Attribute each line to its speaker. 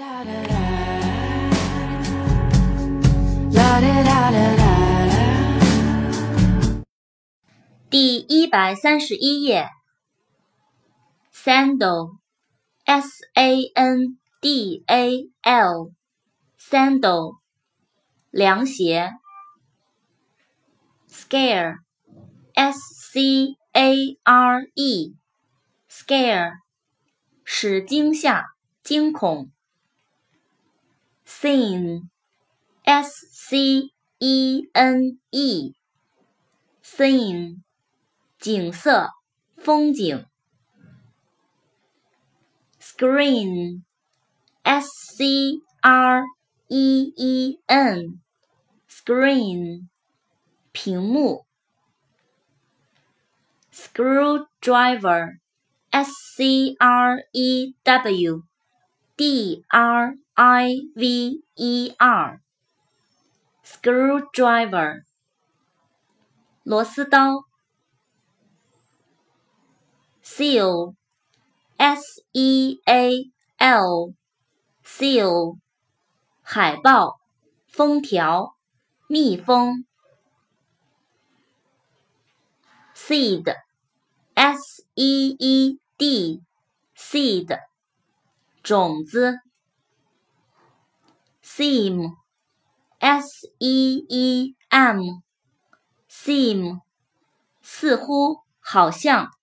Speaker 1: 第131页 Sandal S-A-N-D-A-L Sandal 凉鞋 Scare S-C-A-R-E Scare 使惊吓惊恐 Scene S-C-E-N-E Scene 景色风景 Screen S-C-R-E-E-N Screen 屏幕 Screwdriver S-C-R-E-W-D-R-I-V-E-R Screwdriver 螺丝刀 Seal S-E-A-L Seal 海报封条密封 Seed S-E-E-D Seed 种子 Seam S-E-E-M Seam 似乎好像